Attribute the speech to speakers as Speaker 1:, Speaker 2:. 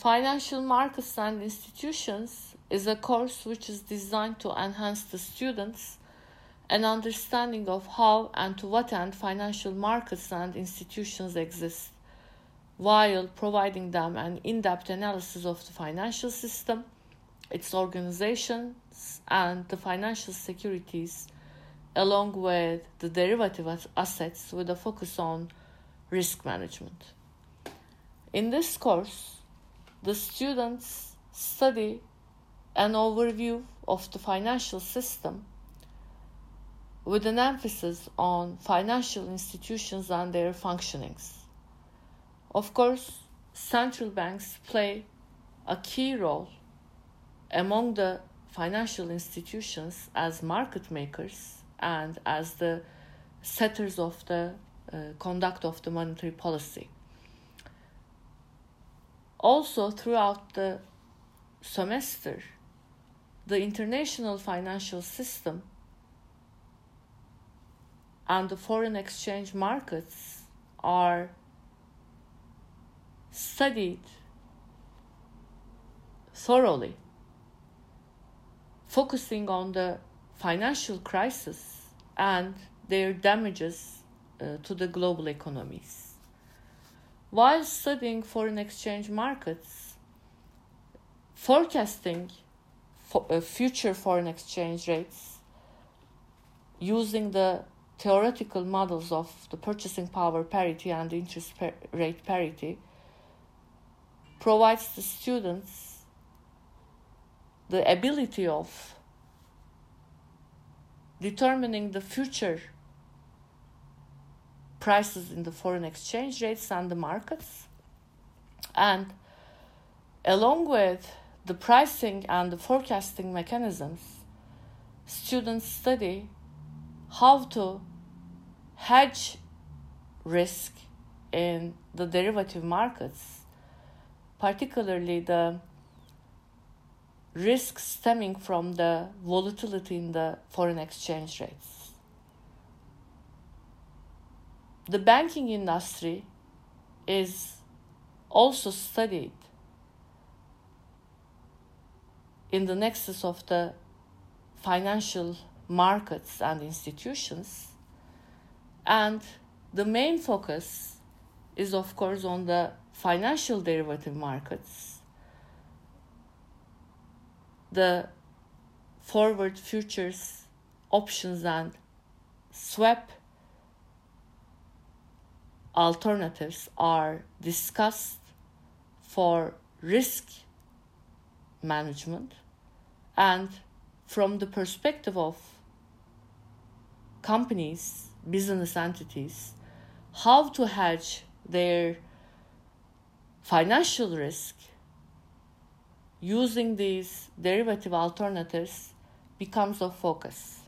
Speaker 1: Financial Markets and Institutions is a course which is designed to enhance the students' an understanding of how and to what end financial markets and institutions exist, while providing them an in-depth analysis of the financial system, its organizations, and the financial securities, along with the derivative assets with a focus on risk management. In this course, the students study an overview of the financial system with an emphasis on financial institutions and their functionings. Of course, central banks play a key role among the financial institutions as market makers and as the setters of the conduct of the monetary policy. Also, throughout the semester, the international financial system and the foreign exchange markets are studied thoroughly, focusing on the financial crisis and their damages to the global economies. While studying foreign exchange markets, forecasting future foreign exchange rates using the theoretical models of the purchasing power parity and interest rate parity provides the students the ability of determining the future prices in the foreign exchange rates and the markets. And along with the pricing and the forecasting mechanisms, students study how to hedge risk in the derivative markets, particularly the risk stemming from the volatility in the foreign exchange rates. The banking industry is also studied in the nexus of the financial markets and institutions, and the main focus is, of course, on the financial derivative markets, the forward futures, options, and swap alternatives are discussed for risk management and from the perspective of companies, business entities, how to hedge their financial risk using these derivative alternatives becomes of focus.